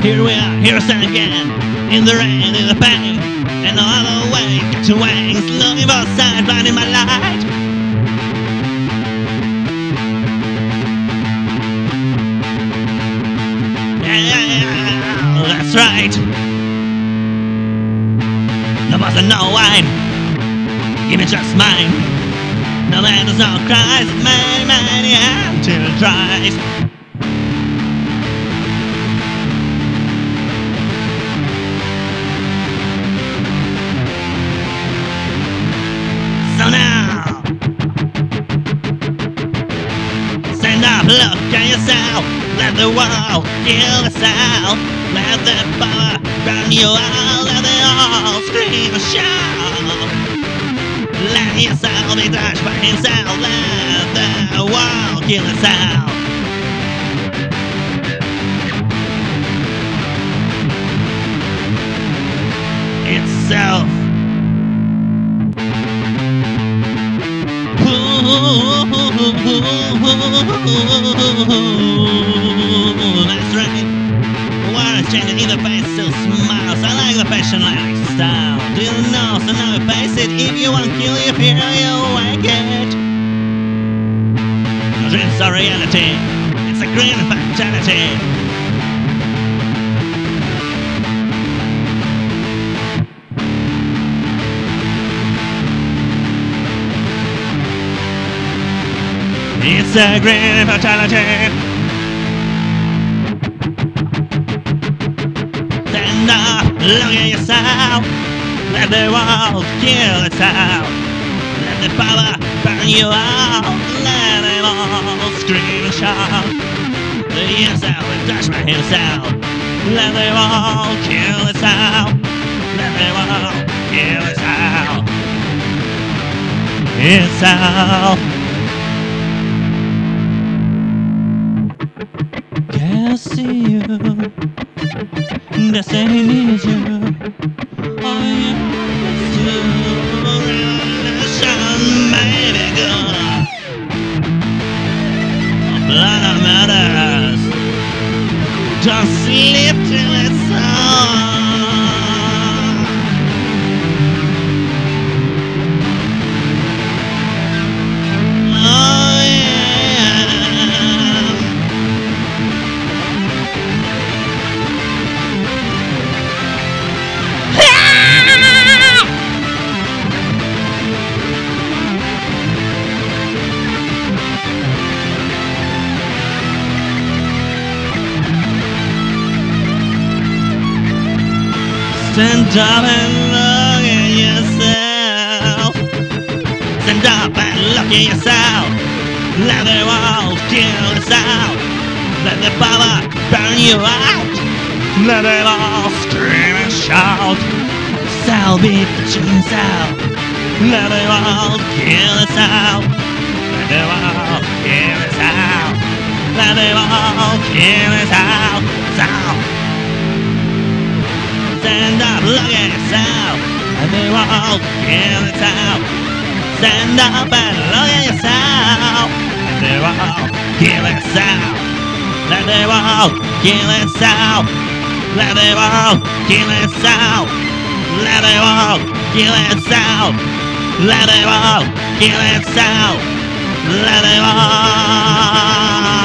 Here we are, here again, in the rain, in the pain, and all the way to wings, looking for a sign, finding my light. Yeah, that's right. No more than no wine, give me just mine. No man does no cries, many until it dries. So now, stand up, look at yourself. Let the world kill us out. Let the power burn you out. Let it all scream and shout. Let yourself be touched by himself. Let the world kill us out. Itself. That's right. The world is changing, either face still smiles. I like the passion, I like the style. Do you know? So now face it. If you want kill you, fear you wake it. No dreams are reality. It's a green fatality. It's a green fatality. Stand up, look at yourself. Let the world kill itself. Let the power burn you out. Let them all scream and shout. Let yourself and touch by himself. Let the world kill itself. Let the world kill itself. Itself. Can't see you, destiny needs you. All you do, revolution may be good. Blood of matters, don't sleep till it's on. Oh yeah. Stand up and look at yourself. Stand up and look at yourself. Let the world kill us out. Let the power burn you out. Let them all scream and shout. Cell beat the tune cell. Let the world kill us out. Let the world kill us out. Let the world kill us out. Stand up, look at yourself. Let the world kill itself. Stand up and look at yourself. Let the world kill itself. Let the world kill itself. Let the world kill itself. Let the world kill itself. Let the world kill itself. Let the world.